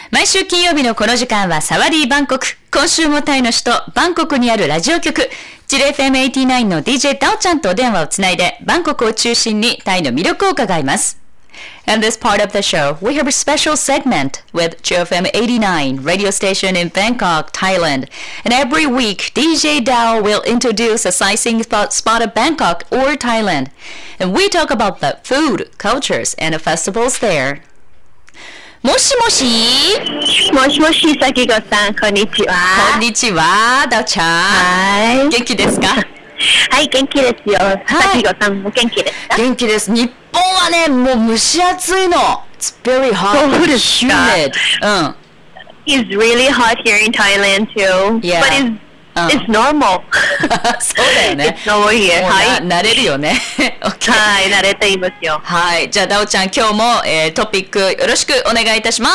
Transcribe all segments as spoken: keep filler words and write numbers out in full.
毎週金曜日のこの時間はサワディーバンコク。今週もタイの首都バンコクにあるラジオ局チル エフエムはちじゅうきゅう の ディージェー ダオちゃんとお電話をつないでバンコクを中心にタイの魅力を伺います。In this part of the show, we have a special segment with Chill エフエムはちじゅうきゅう radio station in Bangkok, Thailand. And every week, ディージェー Dao will introduce a sightseeing spot of Bangkok or Thailand. And we talk about the food, cultures, and the festivals there. もしもしもしもし、さきごさん、こんにちは。 こんにちは、ダオちゃん。 はい。 元気ですか？ はい、元気ですよ。さきごさんも元気ですか？ 元気です。日本はね、もう蒸し暑いの。It's very hot. そうですか。 humid. うん。 It's really hot here in Thailand too. Yeah. But it's, it's normal. そうだよね。 It's normal here. もうはい。 な慣れるよね。OK。 はい、慣れていますよ。 はい。じゃあ、ダオちゃん、今日も、えー、トピックよろしくお願いいたします。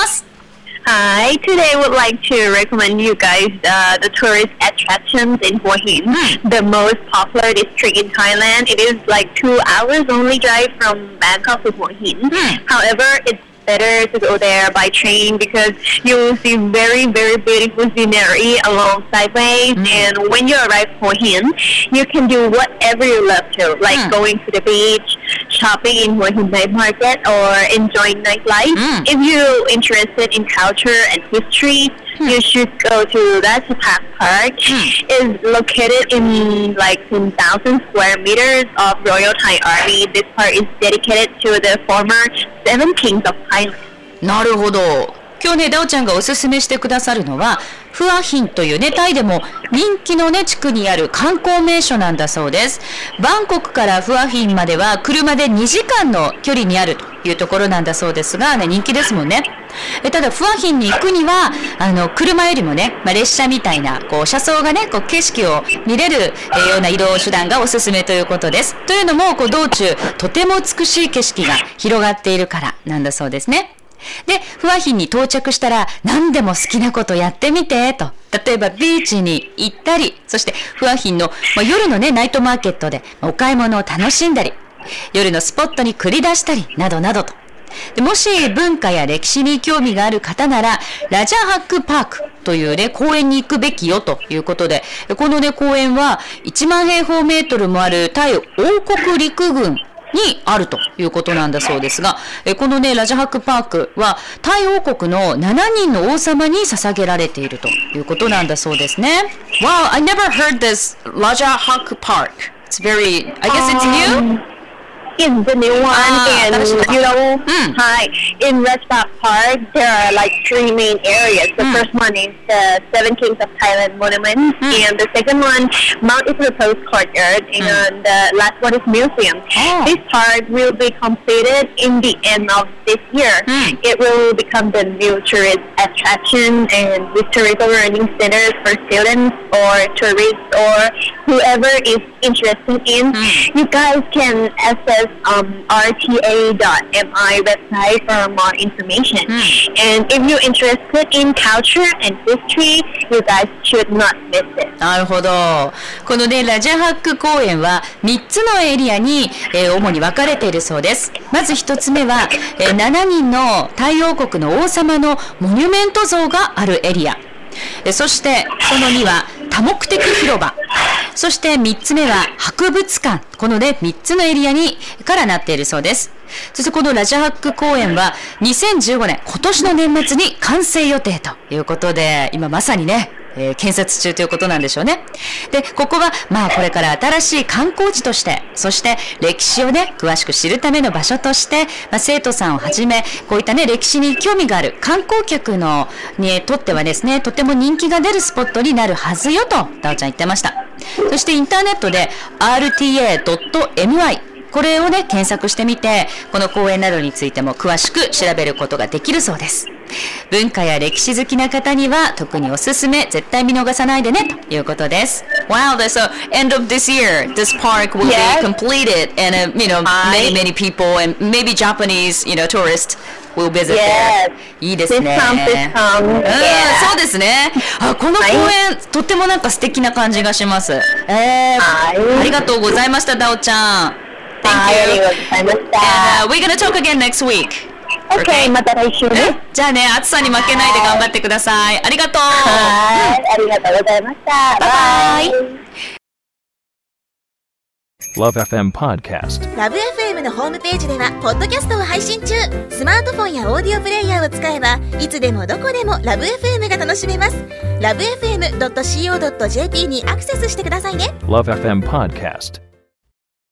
Hi, today I would like to recommend you guys uh, the tourist attractions in Hua Hin, mm. the most popular district in Thailand. It is like two hours only drive from Bangkok to Hua Hin. Mm. However, it's better to go there by train because you will see very, very beautiful scenery along sideways. Mm. And when you arrive Hua Hin, you can do whatever you love to, like mm. going to the beach, shopping in Hua Hin night market, or enjoying nightlife. Mm. If you're interested in culture and history, mm. you should go to Rajapak Park. Mm. It's located in like ten thousand square meters of Royal Thai Army. This park is dedicated to the former seven kings of Thailand. なるほど。今日ね、ダオちゃんがおすすめしてくださるのはフアヒンというね、タイでも人気のね地区にある観光名所なんだそうです。バンコクからフアヒンまでは車でにじかんの距離にあるというところなんだそうですが、ね、人気ですもんね。えただフアヒンに行くにはあの車よりもね、まあ、列車みたいなこう車窓がねこう景色を見れる、えー、ような移動手段がおすすめということです。というのもこう道中とても美しい景色が広がっているからなんだそうですね。で、フアヒンに到着したら何でも好きなことやってみてと。例えばビーチに行ったり、そしてフアヒンの、まあ、夜のねナイトマーケットでお買い物を楽しんだり、夜のスポットに繰り出したりなどなどと。でもし文化や歴史に興味がある方ならラジャハックパークというね公園に行くべきよということで、このね公園はいちまんへいほうメートルもあるタイ王国陸軍にあるということなんだそうですが、このねラジャハックパークはタイ王国のしちにんの王様に捧げられているということなんだそうですね。Wow, I never heard this Raja Hak Park. It's very, I guess it's new?Is the new one, ah, and you know, mm. hi, in Rajapak Park there are like three main areas. The mm. first one is the Seven Kings of Thailand Monument, mm. and the second one, Mount Ipurapose Courtyard, mm. and the last one is Museum. Oh. This park will be completed in the end of this year. Mm. It will become the new tourist attraction and historical learning centers for students or tourists or whoever is interested in. Mm. You guys can access um, R T A dot M I website for more information. Mm. And if you're interested in culture and history, you guys should not miss it. なるほど。このねラジャハック公園はみっつのエリアに、えー、主に分かれているそうです。まずひとつめは、えー、しちにんのタイ王国の王様のモニュメント像があるエリア。そしてそのには多目的広場、そしてみっつめは博物館。このねみっつのエリアにからなっているそうです。そしてこのラジャハック公園はにせんじゅうごねん今年の年末に完成予定ということで、今まさにねえー、建設中ということなんでしょうね。で、ここはまあこれから新しい観光地として、そして歴史をね詳しく知るための場所として、まあ、生徒さんをはじめこういったね歴史に興味がある観光客のにとってはですね、とても人気が出るスポットになるはずよとダオちゃん言ってました。そしてインターネットで アールティーエードットエムアイ これをね検索してみて、この公園などについても詳しく調べることができるそうです。文化や歴史好きな方には特におすすめ、絶対見逃さないでねということです。Wow, that's the end of this year. This park will yes. be completed, and uh, you know many many people and maybe Japanese you know tourists will visit yes. there. いいですね。 This comes, this comes. うん、 yeah. そうですね。あ、この公園、はい、とってもなんか素敵な感じがします。えー、はい、ありがとうございました、ダオちゃん。Thank you. ありがとうございました。 And uh, we're gonna talk again next week. Okay, また来週ね。 じゃあね、暑さに負けないで頑張ってください。ありがとう。 はい、ありがとうございました。 バイバイ。 Love エフエム Podcast。 ラブ エフエム のホームページではポッドキャストを配信中。スマートフォンやオーディオプレイヤーを使えばいつでもどこでもラブ エフエム が楽しめます。ラブ エフエムドットシーオードットジェーピー にアクセスしてくださいね。 Love エフエム Podcast。